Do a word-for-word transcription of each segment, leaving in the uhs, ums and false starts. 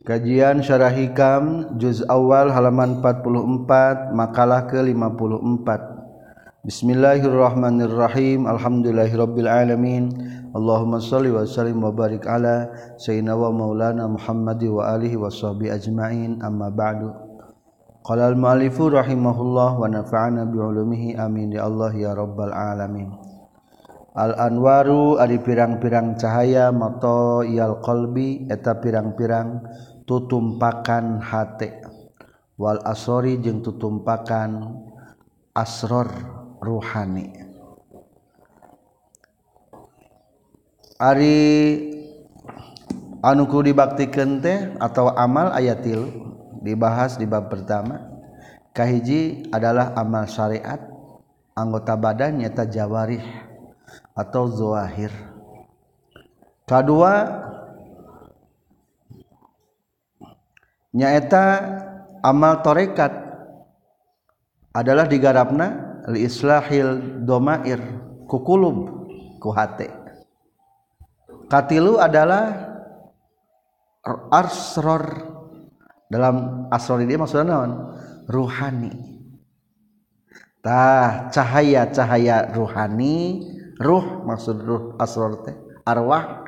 Kajian Syarah Hikam Juz Awal halaman empat puluh empat, makalah ke lima puluh empat. Bismillahirrahmanirrahim. Alhamdulillahirabbil alamin. Allahumma shalli wa sallim wa barik ala sayyidina wa maulana Muhammad wa alihi washabihi ajmain. Amma ba'du. Qala al-mu'allifu rahimahullah wa nafa'ana bi ulumihi amin ya Allah ya rabbal alamin. Al-anwaru ari pirang-pirang cahaya mato iyal qalbi eta pirang-pirang tutumpakan hate, wal asori jeung tutumpakan asror ruhani. Ari anu kudu dibaktikeun teh atau amal aya tilu dibahas di bab pertama. Kahiji adalah amal syariat, anggota badan nyata jawarih atau zahir. Kadua nyaeta amal tarekat adalah digarapna li islahil domair ku kulub ku hate. Katilu adalah asror, dalam asror ini maksudnya naon? Ruhani. Tah cahaya-cahaya ruhani, ruh maksud ruh asror teh arwah,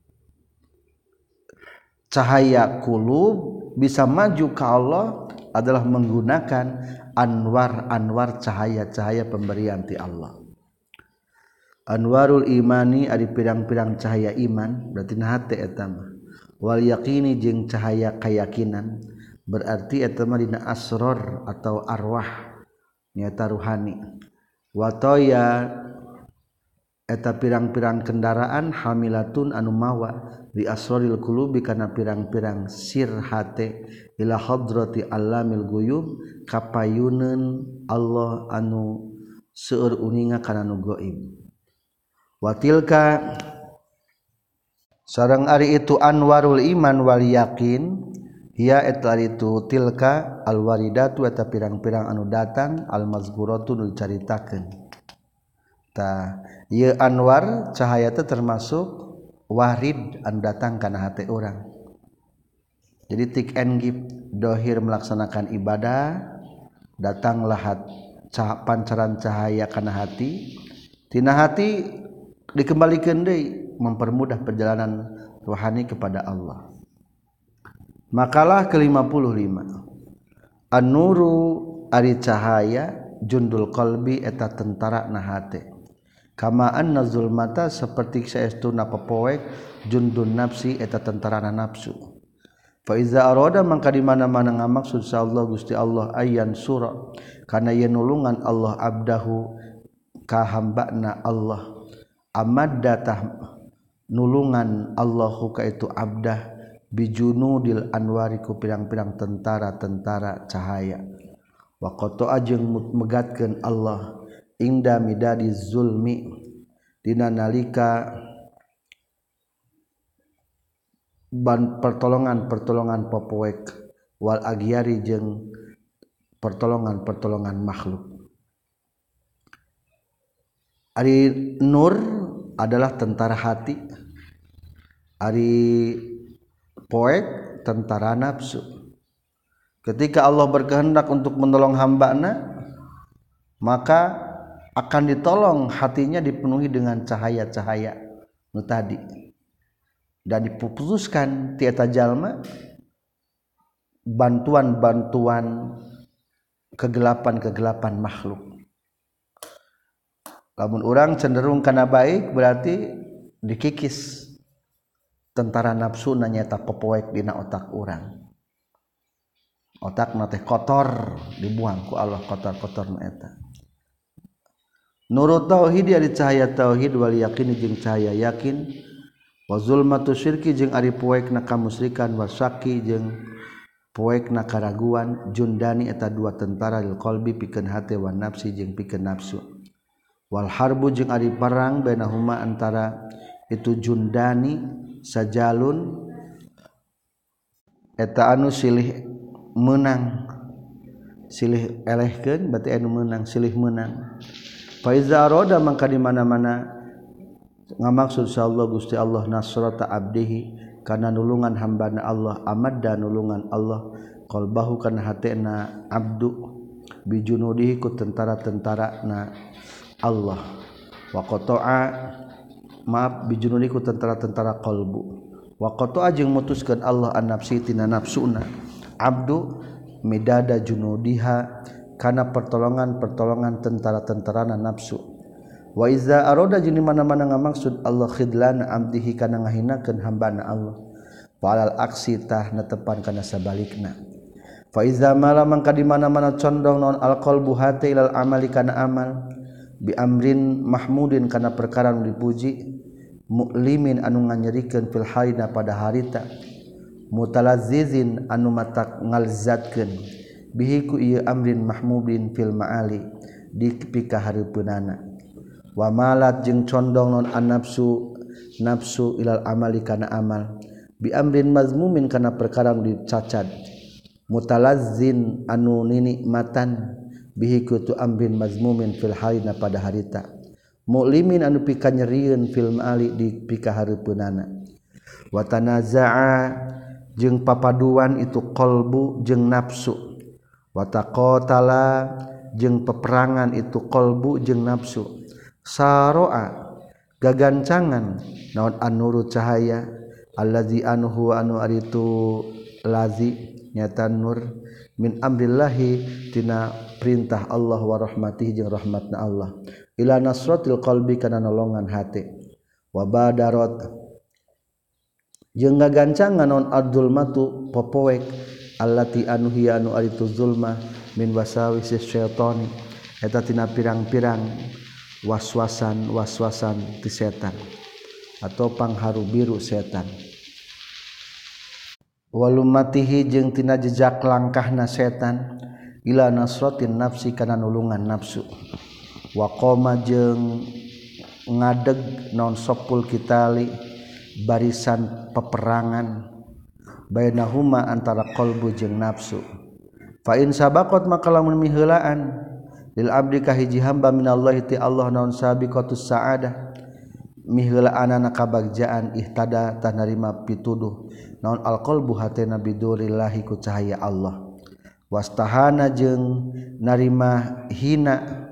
cahaya kulub bisa maju ke Allah adalah menggunakan anwar-anwar cahaya-cahaya pemberian ti Allah. Anwarul imani ari pirang-pirang cahaya iman, berarti na hate eta mah. Wal yaqini jeung cahaya keyakinan, berarti eta mah dina asror atau arwah nyata ruhani. Wa toya eta pirang-pirang kendaraan hamilatun anu mawa di asroril qulubi kana pirang-pirang sir hate ila hadrati allamil ghuyub kapayuneun Allah anu seueur uninga kana nu gaib. Wa tilka sareng ari itu anwarul iman wal yaqin hiya eta itu tilka alwaridatu eta pirang-pirang anu datang almazkuratu nu dicaritakeun. Ta ieu anwar cahaya teh termasuk warid anu datang kana hati orang. Jadi tik and give, dohir melaksanakan ibadah, datanglah hat, cah, pancaran cahaya kana hati, tina hati dikembalikan deui mempermudah perjalanan rohani kepada Allah. Makalah ke lima puluh lima. An-nuru ari cahaya jundul qalbi eta tentara na hate. Kama anna zulmata seperti saestuna pepoek jundun nafsi eta tentarana nafsu. Fa iza arada mangka di mana-mana ngamaksud sa Allah Gusti Allah ayyan sura kana ye nulungan Allah abdahu ka hambana Allah amaddatah nulungan Allahu ka itu abdah bijunudil anwari ku pirang-pirang tentara-tentara cahaya. Wa qata ajeng megatkeun Allah ingda midadi zulmi dina nalika ban pertolongan-pertolongan popoek wal agyari jeung pertolongan-pertolongan makhluk. Ari nur adalah tentara hati, ari poek tentara nafsu. Ketika Allah berkehendak untuk menolong hambana, maka akan ditolong hatinya dipenuhi dengan cahaya-cahaya nu tadi dan diputuskan ti eta jalma bantuan-bantuan kegelapan-kegelapan makhluk. Lamun urang cenderung kana baik berarti dikikis tentara nafsu na nyata pepoek dina otak urang. Otakna teh kotor dibuang ku Allah kotor-kotor na eta. Nurut tauhid ari cahaya tauhid wal yakin jeung cahaya yakin wa zulmatu syirki jeung ari poekna kamusyrikan wa syaki jeung poekna karaguan jundani eta dua tentara lil qalbi pikeun hate wa nafsi jeung pikeun nafsu. Wal harbu jeung ari perang bainahuma antara itu jundani sajalun eta anu silih menang silih elehkeun berarti anu menang silih menang. Fa iza arada mangka di mana-mana ngamaksud insyaallah Gusti Allah nasrata abdihi kana nulungan hambana Allah amadda nulungan Allah qalbahu kana hatena abdu bijunudihi ku tentara-tentara na Allah wa qata'a maaf bijunudihi ku tentara-tentara qalbu wa qata'a jeung mutuskeun Allah an nafsi tina nafsuna abdu midada junudiha kana pertolongan-pertolongan tentara-tentarana nafsu wa iza arada jeung di mana-mana ngamaksud Allah khidlan abdihi kana ngahinakeun hambana Allah falal aksi tah netepan kana sabalikna fa iza mala mangka di mana-mana condong naon alqalbu hati ilal amali kana amal bi amrin mahmudin kana perkara nu dipuji mu'limin anu nganyerikeun fil halina pada harita mutalazzizin anu matak ngalzatkeun bihi ku ieu amrin mahmudin fil ma'ali di pika hareupeunana wa malat jeung condong non an-nafsu nafsu ilal amali kana amal bi amrin mazmumin kana perkara nu dicacad mutalazzin anu ninikmatan bihi ku tu amrin mazmumin fil halina pada harita mu'limin anu pika nyerieun fil ma'ali di pika hareupeunana wa tanaza'a jeung papaduan itu qalbu jeung nafsu wa taqatala jeung peperangan itu qalbu jeung nafsu saroa gagancangan naon an-nuru cahaya allazi anhu anu aritu lazi nyata nur min amrillahi tina perintah Allah wa rahmatihi jeung rahmatna Allah ila nasratil qalbi kana nolongan hate wa badarat jeung gagancangan naon adzulmatu popoek allati anu hiya anu aritu zulma min wasawisi syaitani eta tina pirang-pirang waswasan waswasan ti setan atau pangharu biru setan walumatihi jeung tina jejak langkahna setan ila nasratin nafsi kana nulungan nafsu wa qoma jeung ngadeg naon sopul kitali barisan peperangan bainahuma antara qalbu jeung nafsu fa in sabaqat maka lamun miheulaan lil abdi ka hiji hamba minallahi ti Allah naon sabiqatus saadah miheulaan kabagjaan ihtada tah narima pituduh naon alqalbu hatena bidurillahi ku cahaya Allah wastahana jeung narima hina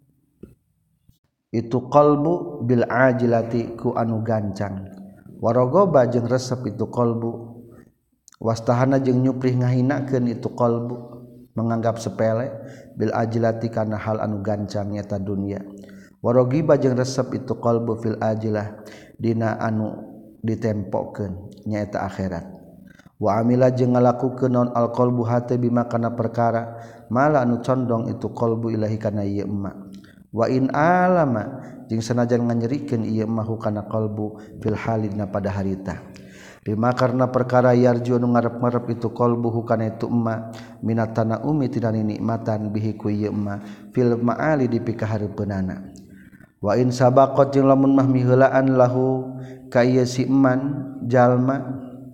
itu qalbu bil ajilati ku anu gancang warogoba jeung resep itu qalbu wastahana jeung nyuprih ngahinakeun itu qalbu menganggap sepele bil ajilati kana hal anu gancang nyata dunia warogiba jeung resep itu qalbu fil ajilah dina anu ditempokeun nyaeta akhirat wa amila jeung ngalakukeun naon alqalbu hate bima kana perkara mala anu condong itu qalbu ilahi kana ieu emma wa in alama jeung sanajan nganyerikeun ieu emma kana qalbu fil halina pada harita bima karna perkara yarju nu ngarep-ngarep itu qalbuhu kana itu emma minatana umi tina nikmatan bihi ku ieu emma fil ma'ali di pikahareupeunana wa in sabaqat jeung lamun mah miheulaan lahu ka ieu si eman jalma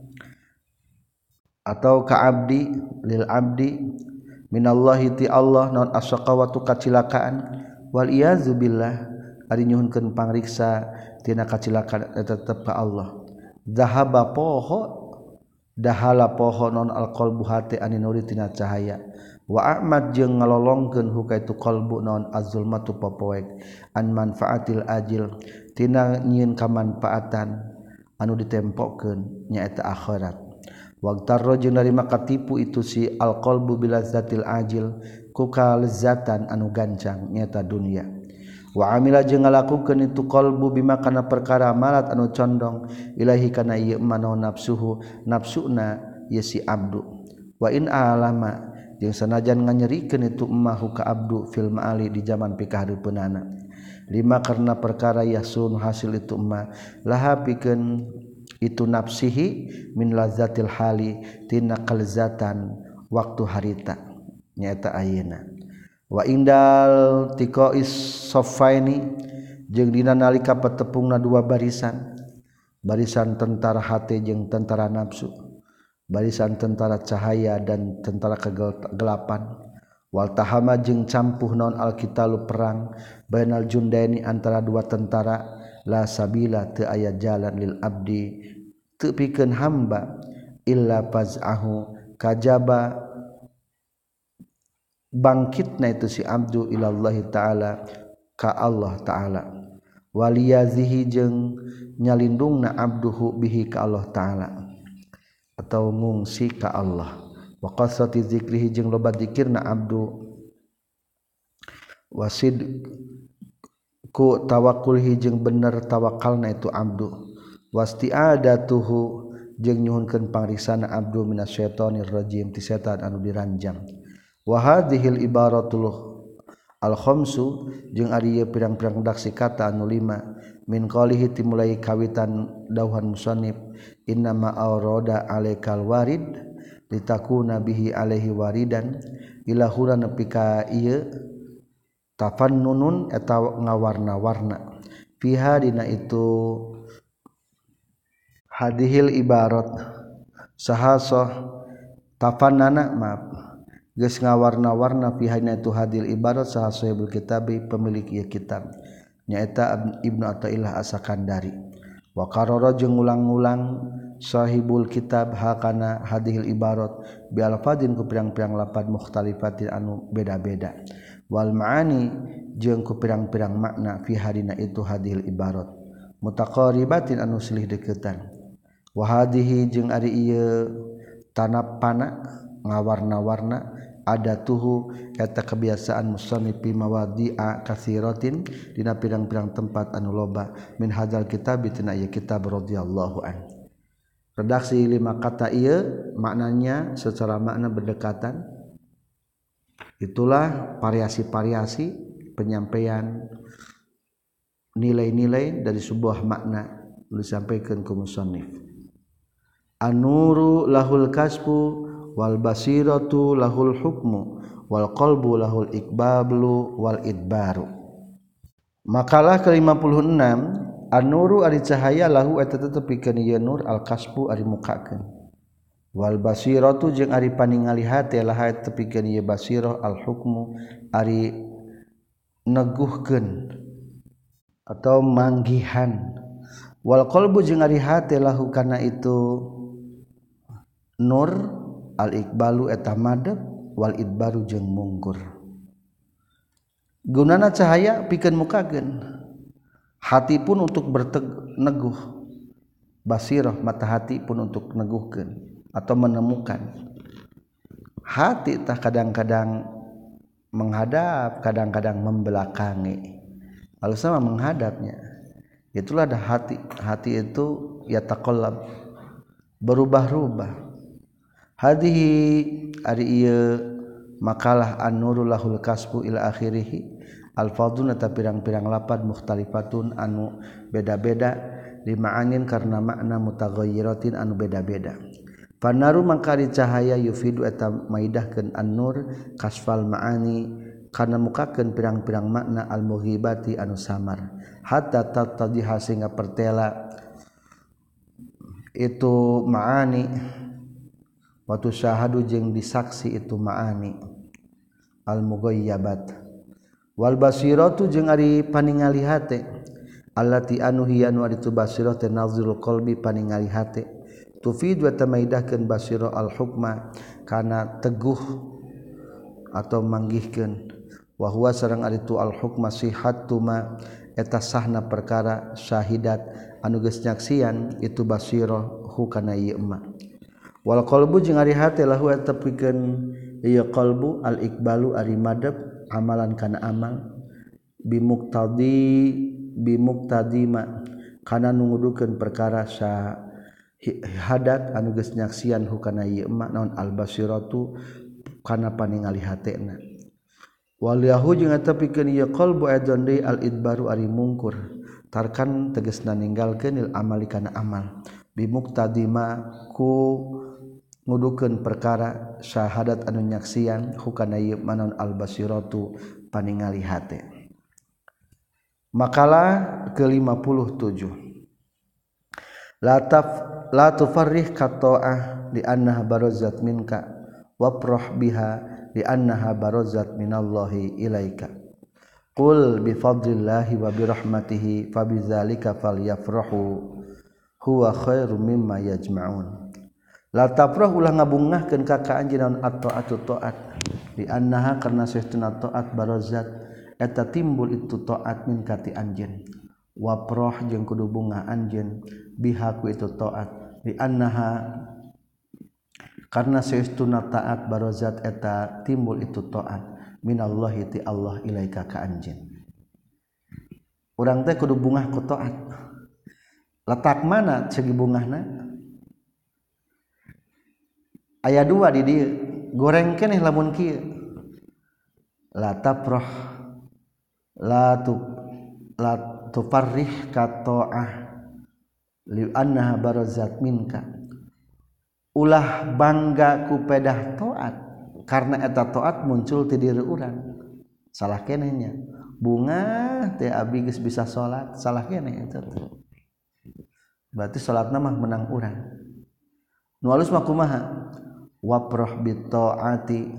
atau ka abdi lil abdi minallahi ti Allah naon asaqawatu kacilakaan wal iyazu billah ari nyuhunkeun pangriksa tina kacilakaan eta tetep ka Allah zahaba poho dahala poho non alqalbu hati ani nuri tina cahaya wa ahmad jeung ngalolongkeun hukaitu qalbu non azulmatu popoek an manfaatil ajil tina nyieun kamanfaatan anu ditempokeun nyaeta akhirat waqtarra jeung narima katipu itu si alqalbu bilazzatil ajil ku kalezatan anu gancang nyaeta dunia wa amila jeung ngalakukeun itu qalbu bima kana perkara malat anu condong ilahi kana ieu manaon nafsuhu nafsuna ye si abdu wa in alama jeung sanajan nganyerikeun itu emmahu ka abdu fil ma'ali di zaman pikahareupeunana lima karena perkara yasun hasil itu emma laha pikeun itu nafsihi min lazzatil hali tina kalzatan waktu harita nyaeta ayeuna wa indal tiqais saffaini jeung dina nalika patepungna dua barisan barisan tentara hate jeung tentara nafsu barisan tentara cahaya dan tentara kegelapan wal tahama jeung campuh naon alqitalu perang bainal jundaini antara dua tentara la sabila teu aya jalan lil abdi teu pikeun hamba illa faz'ahu kajaba bangkitna itu si abdu ilallahi ta'ala ka Allah ta'ala waliyazihi jeung nyalindungna abduhu bihi ka Allah ta'ala atau ngungsi ka Allah wa qasati zikrihi jeung loba zikirna abdu wasid ku tawakkulhi jeung bener tawakalna itu abdu wasti'adatuhu jeung nyuhunkeun pangriksana abdu minasyaitonir rajim ti setan anu diranjang wa hadhil ibaratul al khamsu jeung ari ieu pirang-pirang daksi kata anu lima min qalihi timulai kawitan dauhan musannif innama awrada alaikal warid litakuna bihi alaihi waridan ilahura nepi ka ieu tafannunun eta ngawarna-warna fiha dina itu hadhil ibarat sahasa tafannana maaf geus ngawarna-warna pihana itu hadil ibarat saha sahibul kitabi pemilik ieu kitab nyaeta Ibnu Athaillah As-Sakandari wa qarara jeung ulang-ulang sahibul kitab hakana hadhil ibarat bi alfadin ku pirang-pirang lapad mukhtalifatin anu beda-beda wal maani jeung ku pirang-pirang makna fi hadina itu hadhil ibarat mutaqaribatin anu silih deukeutan wa hadhihi jeung ari ieu tanapana ngawarna-warna ada tuhu eta kebiasaan musannif fi mawadi'a katsiratin dina pirang-pirang tempat anu loba min hadzal kitab tina ieu kitab radhiyallahu an redaksi lima kata ieu maknanya secara makna berdekatan itulah variasi-variasi penyampaian nilai-nilai dari sebuah makna disampaikan ke musannif an-nuru lahul kasbu wal basiratu lahul hukmu wal qalbu lahul iqbalu wal idbaru. Makalah ke lima puluh enam an-nuru ari cahaya lahu eta tetep pikeun ieu nur al kasbu ari mukakeun wal basiratu jeung ari paningali hate lah eta pikeun ieu basirah al hukmu ari neguhkeun atau manggihan wal qalbu jeung ari hate lahu kana itu nur al iqbalu eta madep wal idbaru jeung mungkur gunana cahaya pikeun mukakeun hati pun untuk berneguh basirah mata hati pun untuk neguhkeun atau menemukan hati tah kadang-kadang menghadap kadang-kadang membelakangi kalau sama menghadapnya itulah ada hati hati itu ya taqallab berubah-ubah hadhihi ari ieu makalah an-nurul lahul kasbu ila akhirih al-fadhun eta pirang-pirang lapad mukhtalifatun anu beda-beda lima'anin karena makna mutaghayyiratin anu beda-beda fanaru mangkari cahaya yufidu eta maidahkeun an-nur kasfal ma'ani kana mukakeun pirang-pirang makna al-mughibati anu samar hatta tatadiha sehingga pertela itu ma'ani watu syahadu jeung disaksi itu ma'ani al-mughayyabat wal basiratu jeung ari paningali hate allati anu hiya anu ari tu basirah teh nazrul qalbi paningali hate tufid wa tamaidahkeun basirah al-hukma kana teguh atau manggihkeun wa huwa sareng ari tu al-hukma sihhatu ma eta sahna perkara syahidat anu geus nyaksian itu basirah hu kana ieu ma wal qalbu jeung ari hate lahu eta pikeun ieu qalbu al iqbalu ari madep amalan kana amal bimuqtadi bimuqtadima kana nungudukeun perkara syahadat anu geus nyaksian hukana ieu ma naon al basiratu kana paningali hatena wal yahu jeung eta pikeun ieu qalbu adzon deui al idbaru ari mungkur tarkan tegasna ninggalkeun il amali kana amal bimuqtadima ku ngudukeun perkara syahadat anu nyaksian hukana ieu manon al basiratu paningali hate. Makalah ke lima puluh tujuh la taf la tufarrih qata'ah li annaha barazat minka wafrah biha li annaha barazat minallahi ilaika qul bi fadlillahi wa bi rahmatihi fabidzalika falyafrahu huwa khairum mimma yajma'un. La tafrah ulah ngabungahkeun ka ka anjeun naon at-ta'atu ta'at di annaha karna saestuna ta'at barazat eta timbul itu ta'at min kati anjeun wa prah jeung kudu bungah anjeun biha ku itu ta'at di annaha karna saestuna ta'at barazat eta timbul itu ta'at minallahi ti Allah ilaika ka anjeun. Urang teh kudu bungah ku ta'at. Letak mana segi bungahna? Aya dua di dieu. Goreng keneh lamun kieu. La tafrah la tu la tufarrih ka ta'ah li annaha barazat minka. Ulah bangga ku pedah ta'at karena eta ta'at muncul ti diri urang. Salah kenehnya. Bunga teh abi geus bisa salat, salah keneh eta. Berarti salatna mah menang urang. Nu alus mah kumaha? Waprah bi taati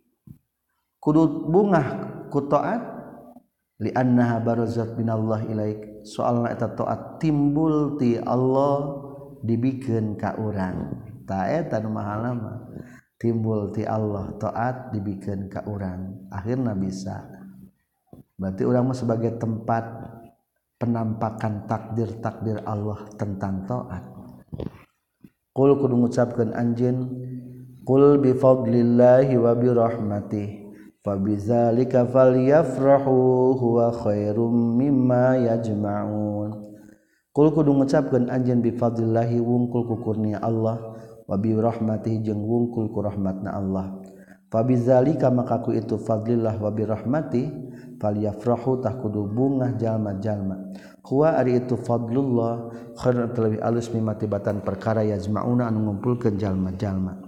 kudu bungah ku taat li annaha barazat minallah ilaik soalna eta taat timbul ti Allah dibikeun ka urang. Ta eta nu mahalna mah timbul ti Allah taat dibikeun ka urang. Akhirna bisa. Berarti urang mah sebagai tempat penampakan takdir-takdir Allah tentang taat. Qul kudu ngucapkeun anjeun qul bi fadlillahi wa bi rahmatihi fabidzalika falyafrahu huwa khairum mimma yajma'un. Qul kudu ngucapkeun anjeun bi fadlillahi wungkul ku kurnia Allah wa bi rahmatihi jeung wungkul ku rahmatna Allah. Fabidzalika maka ku itu fadlillah wa bi rahmatihi falyafrahu tah kudu bungah jalma-jalma. Huwa ari itu fadlullah khairun lebih alus mimma tibatan perkara yajma'una anu ngumpulkeun jalma-jalma.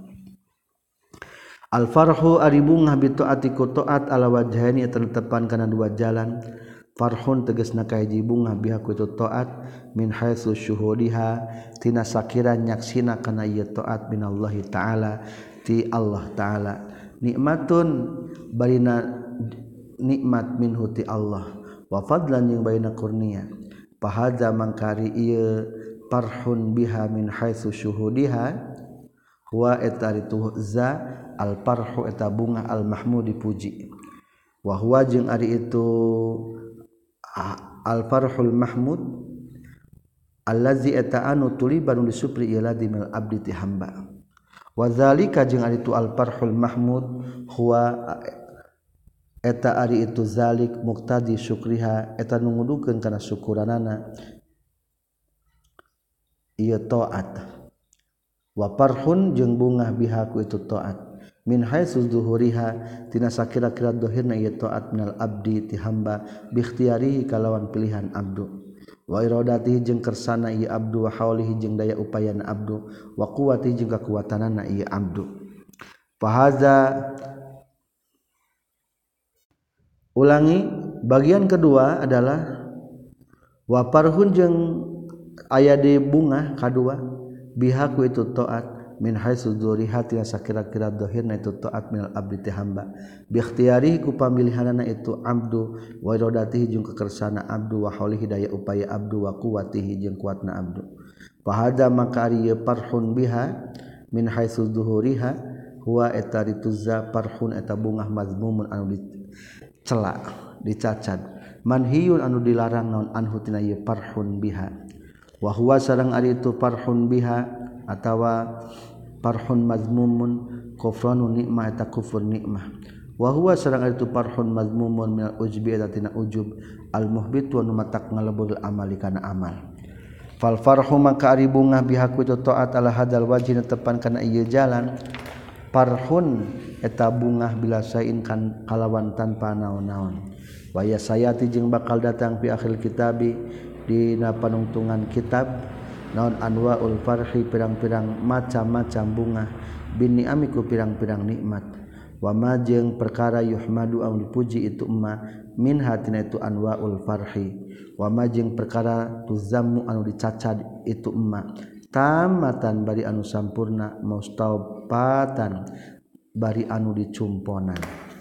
Al farhu ari bungah bi taati ku taat ala wajhaini tetepan kana dua jalan. Farhun tegasna kahiji bungah biha ku itu taat min haitsu syuhudiha tina sakira nyaksina kana ieu taat minallahi taala ti Allah taala. Nikmatun barina nikmat minhu ti Allah wa fadlan jeung baina kurnia fahadza mangkari ieu farhun biha min haitsu syuhudiha wa etaritu za al farhu eta bunga al mahmud dipuji wa huwa jeung ari itu al farhul mahmud allazi eta anu tuliban disupri ila dimil abdi ti hamba wa zalika jeung ari itu al farhul mahmud huwa eta ari itu zalik muqtadi syukriha eta nu ngudukeun kana syukuranana ieu taat wa farhun jeung bungah biha ku itu taat min haitsu zuhuriha tina sakira-kira dohirna ieu taat minal abdi ti hamba bi ikhtiyarihi kalawan pilihan abdu wa iradatihi jeung kersana ieu abdu wa haulihi jeung daya upayana abdu wa quwwatihi jeung kakuatanana ieu abdu fahaza. Ulangi bagian kedua adalah wa farhun jeung aya di bunga kadua biha ku itu taat min haitsu dzurihati sakira-kira dohirna itu taat minal abdi ti hamba bi ikhtiyarihi ku pamilihanana itu abdu wa iradatihi jeung kekersana abdu wa haulihi daya upaya abdu wa quwwatihi jeung kuatna abdu fahada maka ari farhun biha min haitsu dzurihha huwa etarituzza farhun eta bungah mazmumun anu celak dicacad manhiyun anu dilarang naon anhu tina ieu farhun biha wa huwa sareng ari itu farhun biha atawa farhun mazmumun kufranu nikmah eta kufur nikmah wa huwa sareng ari itu farhun mazmumun minal ujbi eta tina ujub al muhbitu anu matak ngalebur amali kana amal fal farhu maka ari bungah biha ku itu taat ala hadal wajhi tepan kana ieu jalan farhun eta bungah bila sain kan kalawan tanpa naon-naon wa ya sayati jeung bakal datang fi akhir kitabi dina panungtungan kitab naon anwaul farhi pirang-pirang macam-macam bunga bin ni'ami ku pirang-pirang nikmat wa ma jeung perkara yuhmadu au dipuji itu emma min hatina itu anwaul farhi wa ma jeung perkara tuzammu anu dicacad itu emma tamatan bari anu sampurna mustaubatan bari anu dicumponan.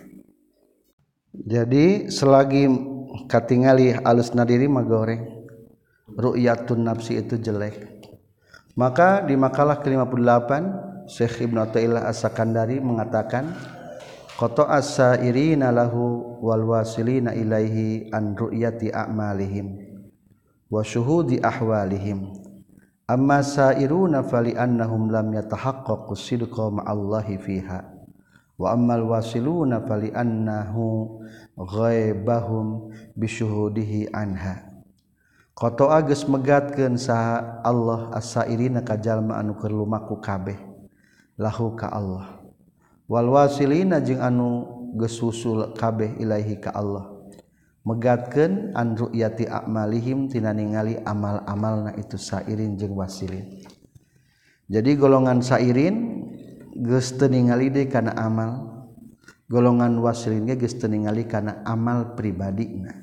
Jadi selagi katingali alusna diri mah goreng ru'yatun nafsi itu jelek Maka di makalah ke lima puluh delapan Syekh Ibnu Athaillah As-Sakandari mengatakan qata as-sairina lahu wal wasilina ilaihi an ru'yati a'malihim wa syuhudi ahwalihim amma sairuna fali annahum lam yatahaqqaqu sidqa ma'allahi fiha wa ammal wasiluna fali annahu ghaibahum bisyuhudihi anha qata geus megatkeun saha Allah as-sairina ka jalma anu keur lumaku kabeh lahu ka Allah wal wasilina jeung anu geus usul kabeh ilaahi ka Allah megatkeun an ru'yati a'malihim tina ningali amal-amalna itu sairin jeung wasilin. Jadi golongan sairin geus teu ningali deui kana amal, golongan wasilin ge geus teu ningali kana amal pribadina.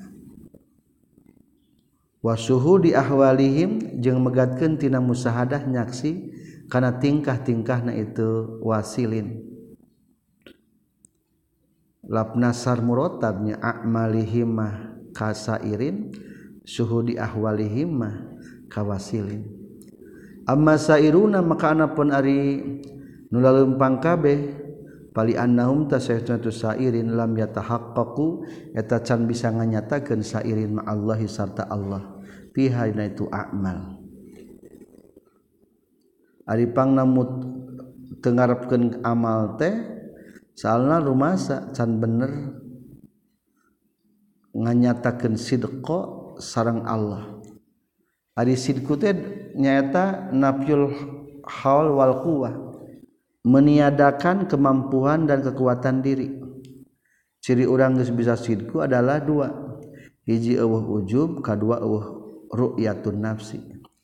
Wa syuhudi ahwalihim jeung megatkeun tina musahadah nyaksi kana tingkah-tingkahna itu wasilin. Lapna sar murotabnya a'malihim mah kasairin syuhudi ahwalihim mah kawasilin. Amma sairuna maka anapun ari nu laleumpang kabeh pali annahum tasaytuna tu sairin lam yatahaqqaqu eta can bisa nganyatakeun sairin ma Allahi sarta Allah fiha dina itu a'mal. Ari pangnamut teu ngarepkeun amal teh soalna rumasa can bener nganyatakeun sidqa sareng Allah. Ari sidku teh nyaeta nafyul haul wal quwwah, meniadakan kemampuan dan kekuatan diri. Ciri urang geus bisa sidku adalah dua. Hiji eueuh ujub, kadua eueuh ru'yatun nafsi.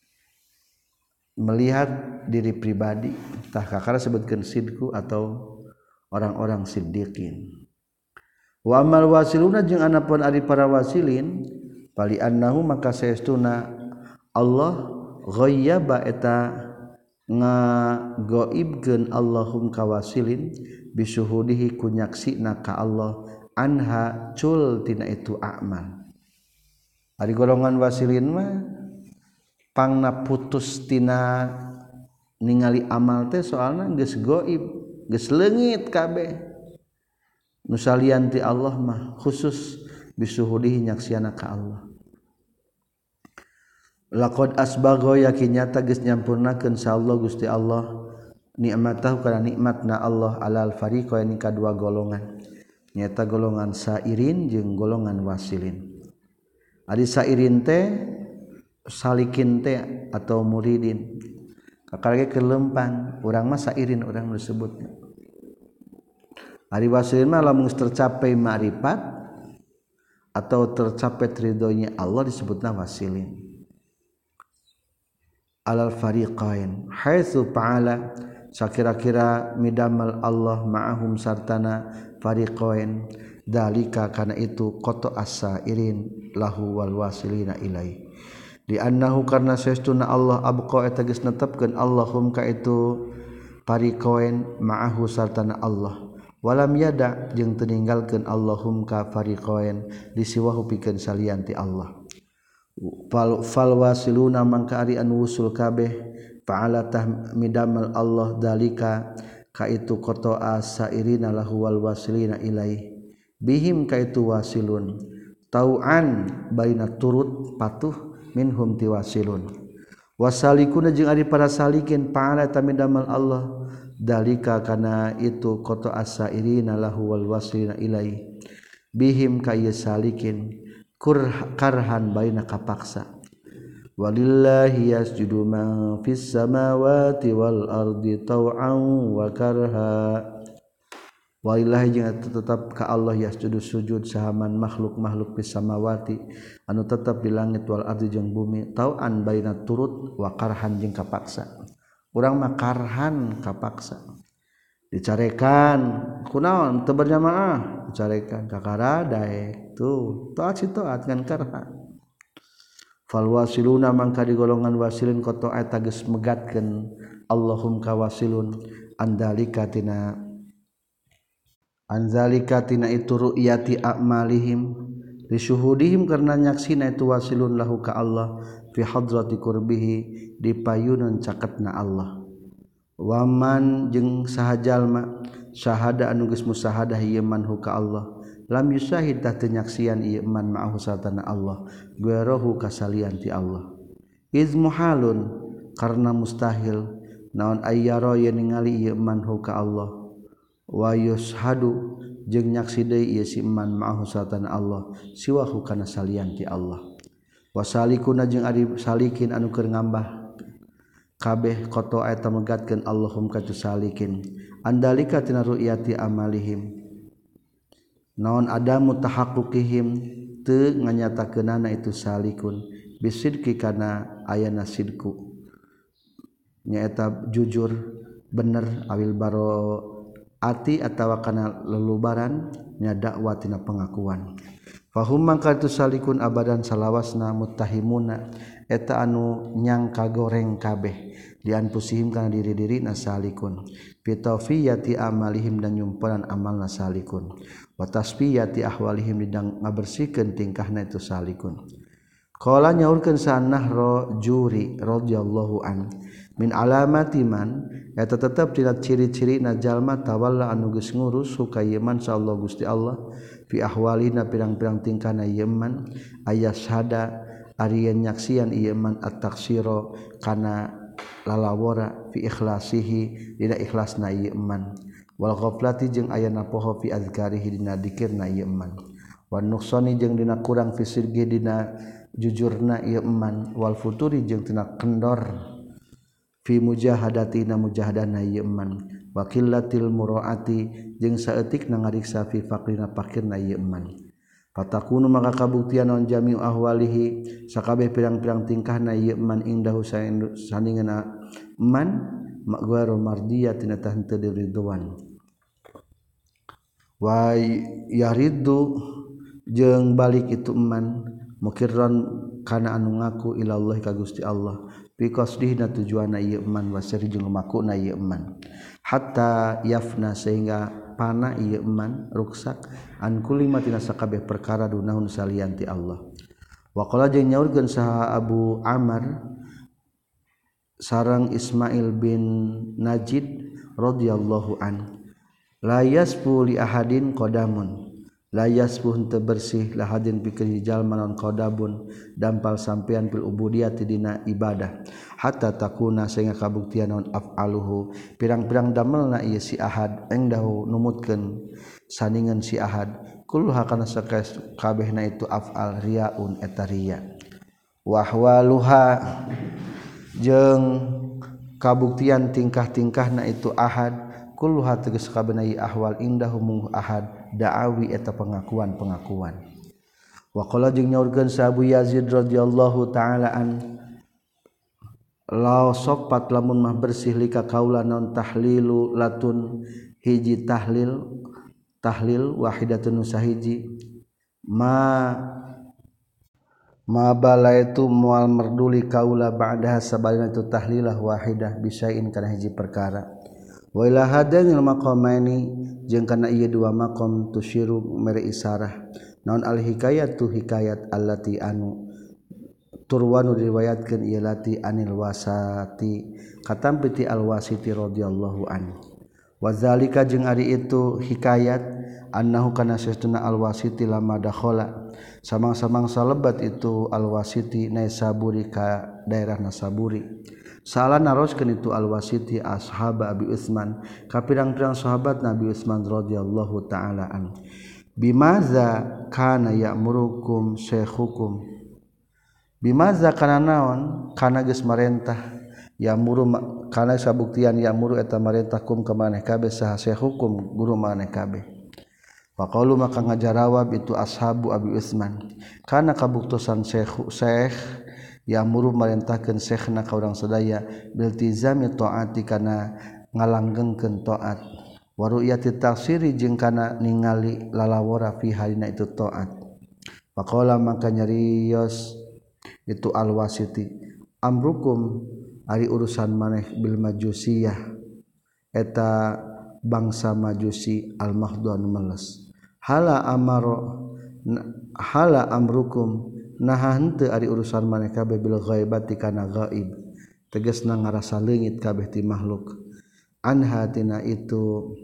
Melihat diri pribadi, tah kakara sebutkeun sidku atau orang-orang siddiqin. Wa amal wasiluna jeung anapun ari para wasilin pali annahu maka saestuna Allah ghayyaba eta ngagoibkeun Allahum kawasilin bisyuhudihi kunyaksina ka Allah anha cul tina itu a'mal. Ari golongan wasilin mah pangna putus tina ningali amal teh soalna geus gaib, geus leungit kabeh. Nu salian ti Allah mah khusus bisuhudihi nyaksiana ka Allah. Laqad asbagha yakin nyata geus nyampurnakeun sa Allah Gusti Allah nikmatahu kana nikmatna Allah alal fariqain ka dua golongan. Nyata golongan sairin jeung golongan wasilin. Ari sairin teh salikin teh atau muridin. Kakarage kelempang, urang mah sairin urang disebutna. Ari wasilin mah lamun tercapai ma'rifat atau tercapai ridhonya Allah disebutna wasilin. Alal fariqain haitsu fa'ala sakira-kira midamal Allah ma'ahum sartana fariqain dalika kana itu qata as-sairin lahu wal wasilina ilai di annahu karna saestuna Allah abqa eta geus netepkeun Allahum ka itu fariqain ma'ahu sartana Allah walam yada jeung teu ninggalkeun Allahum ka fariqain disiwahu pikeun salian ti Allah. Fal, fal wasiluna mangka ari anu wusul kabeh fa'ala tahmidamal Allah dalika ka itu qata as-sairina lahu wal wasilina ilai bihim ka itu wasilun tau'an baina turut patuh minhum ti wasilun wasalikuna jeung ari para salikin fa'ala tahmidamal Allah dalika kana itu qata as-sairina lahu wal wasilina ilai bihim ka ieu salikin karhan baina kapaksa walillahi yasjudu man fis samawati wal ardi tau'an wa karha walillahi jeung tetep ka Allah yasjudu sujud sahaman makhluk-makhluk fis samawati anu tetep di langit wal ardi jeung bumi tau'an baina turut wa karhan jeung kapaksa urang mah karhan kapaksa dicarekan kunaon teu berjamaah dicarekan kakara daek tuh taat si taat ngan karha fal wasiluna mangka di golongan wasilin qata eta geus megatkeun Allahum ka wasilun andalika tina anzalika tina itu ru'yati a'malihim li syuhudihim karna nyaksina itu wasilun lahu ka Allah fi hadrati qurbihi di payunan caketna Allah. Waman jeung saha jalma syahada anu geus musahadah ieu man hu ka Allah lam yusahid tah teu nyaksian ieu man ma'ahu sartana Allah guerohu kasalian ti Allah. Iz muhalun karna mustahil naon ayyara yen ningali ieu man hu ka Allah wa yushadu jeung nyaksi deui ieu si man ma'ahu sartana Allah siwahu kana salian ti Allah. Wasalikuna jeung ari salikin anu keur ngambah kabeh koto eta megatkeun Allahum ka tu salikin andalika tina ru'yati amalihim naon adamu tahaqquqihim teu nganyatakeunana itu salikun bisidqi kana ayana sidku nyaeta jujur bener awil baro ati atawa kana lelubaran nya dakwah tina pengakuan. Fahum mangka tu salikun abadan salawasna muttahimuna eta anu nyangka goreng kabeh dian pusihim kana diri-dirina salikun pitawfiyati amalihim dan nyumpuran amalna salikun wa tasfiyati ahwalihim didang ngabersihkeun tingkahna itu salikun. Qala nyaurkeun sanahro juri radhiyallahu an min alamati man eta tetep tina ciri-cirina jalma tawalla anu geus ngurus sukayeman sallallahu Gusti Allah fi ahwalina pirang-pirang tingkahna yeman ayasyhada ari yen nyaksian ieu man at-taksira kana lalawara fi ikhlasihi dina ikhlasna ieu man wal ghaflati jeung aya napoho fi azkarihi dina dzikirna ieu man wan nuqsani jeung dina kurang fi sirgi dina jujurna ieu man wal futuri jeung tina kendor fi mujahadatina mujahadana ieu man wa qillatil muraati jeung saeutikna ngariksa fi faqrina fakirna ieu man. Fatakunu maka kabuktian naon jami'u ahwalihi sakabeh pirang-pirang tingkahna ieu man indahu saningeuna man magwaru mardiyatin tah henteu diridwan. Wa yariddu jeung balik itu man mukirran kana anu ngaku ilallah ka Gusti Allah bi qasdihna tujuanna ieu man wasari jeung lumakuna ieu man hatta yafna sehingga pana ieu man ruksak an kulli ma tina sakabeh perkara dunahun salian ti Allah. Wa qala jeung nyaurkeun saha Abu Amr sareng Ismail bin Najid radhiyallahu an la yasfu li ahadin qadamun la yasfu henteu bersih lahadin pikeun jalma naon qadabun dampal sampean fil ubudiyati dina ibadah hatta takuna sehingga kabuktian naon af'aluhu pirang-pirang damelna ieu si ahad engdahu numutkeun saningan si ahad kulluha kana sakabehna itu af'al riyaun eta riya wa ahwaluha jeung kabuktian tingkah-tingkahna itu ahad kulluha tegas kabehna ieu ahwal indahu mung ahad da'awi eta pengakuan-pengakuan. Wa qala jeung nyaurkeun sa Abu Yazid radhiyallahu taala an la sopat lamun mah bersih lika kaula naon tahlilu latun hiji tahlil tahlil wahidatun sahiji ma ma bala itu moal merduli kaula ba'daha sabalina itu tahlilah wahidah bisain kana hiji perkara. Wa ila hadanil maqamaini jeung kana ieu dua maqam tusyiru mere isarah naon al hikayatu hikayat allati anu turwanu diriwayatkeun ieu lati anil wasati katampi ti al wasiti radhiyallahu anhu wa zalika jeung ari itu hikayat annahu kana sesuna al wasiti lama dakhala samang-samang salebat itu al wasiti Naisaburi ka daerah Nasaburi salah naroskeun itu al-wasiti ashab Abi Utsman ka pirang-pirang sahabat Nabi Utsman radhiyallahu taala an bimaza kana ya'murukum syekhukum bimaza kana naon kana geus marentah ya'muru kana sabuktian ya'muru eta marentahkum ka maneh kabeh saha syekhukum guru maneh kabeh faqalu maka ngajarawab itu ashabu Abi Utsman kana kabuktosan syekh syekh ya'muru marentahkeun syekhna ka urang sadaya biltizami taati kana ngalanggengkeun taat wa ru'yati tafsiri jeung kana ningali lalawara fi halina itu taat faqala maka nyarios itu al-wasiti amrukum ari urusan maneh bil majusiyah eta bangsa majusi al-mahdhu anu meles hala amaro hala amrukum naha henteu ari urusan maneh kabeh bil ghaibati kana gaib tegasna ngarasa leungit kabeh ti makhluk anha tina itu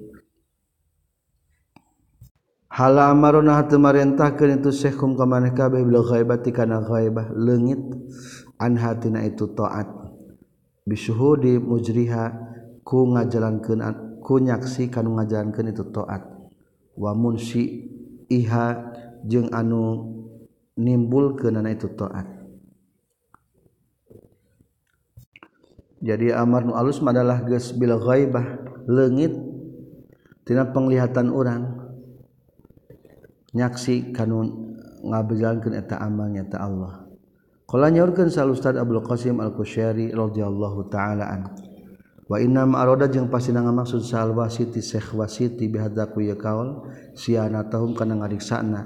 hala amaruna hatu marentahkeun itu syekhum ka maneh kabeh bil ghaibati kana ghaibah leungit anha tina itu taat bisyuhudi mujriha ku ngajalankeun ku nyaksi kanu ngajalankeun itu taat wa munsi iha jeung anu nimbulkeun itu taat. Jadi amar nu alus adalah geus bil ghaibah leungit tina penglihatan urang nyaksi kanu ngabejalankeun eta amal nya ta Allah. Qala nyaurkeun sa Ustaz Abdul Qasim Al-Qushairi radhiyallahu taala an. Wa inna ma arada jeung pasina ngamaksud sa al-wasiti Syekh Wasiti bihadza ku ya kaul sianatahum kana ngariksana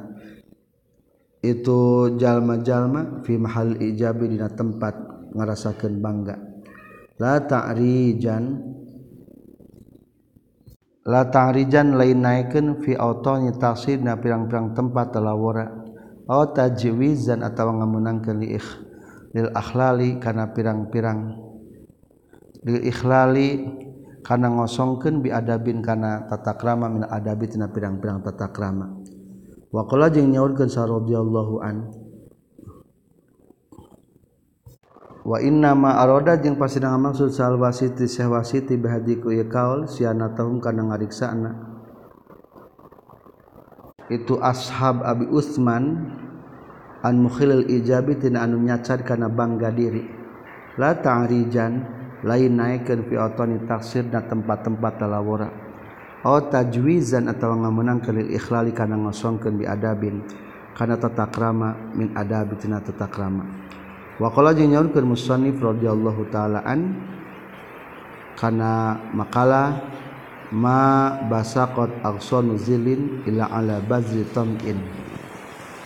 itu jalma-jalma fi mahal ijabi dina tempat ngarasakeun bangga. La ta'rijan la ta'rijan lain naikeun fi autani taqsidna pirang-pirang tempat talawara aw tajwizan atawa ngameunangkeun li ikh lil akhlali kana pirang-pirang lil ikhlali kana ngosongkeun bi adabin kana tata krama min adabi tina pirang-pirang tata krama. Wa qala jeung nyaurkeun sa radhiyallahu an wa inna ma arada jeung pasina ngamaksud sal wasiti Syekh Wasiti bihadiku ieu kaul sianatahum kana ngariksana itu ashab Abi Utsman an mukhilil ijabi tina anu nyacar kana bangga diri la ta'rijan lain naikeun fi autani taksirna tempat-tempat talawara aw tajwizan atawa ngameunangkeun lil ikhlali kana ngosongkeun bi adabin kana tata krama min adabi tina tata krama. Wa qala jeung nyaurkeun musannif radhiyallahu taala an kana makalah ma basaqat aqsanu zilin ila ala bazri tam'in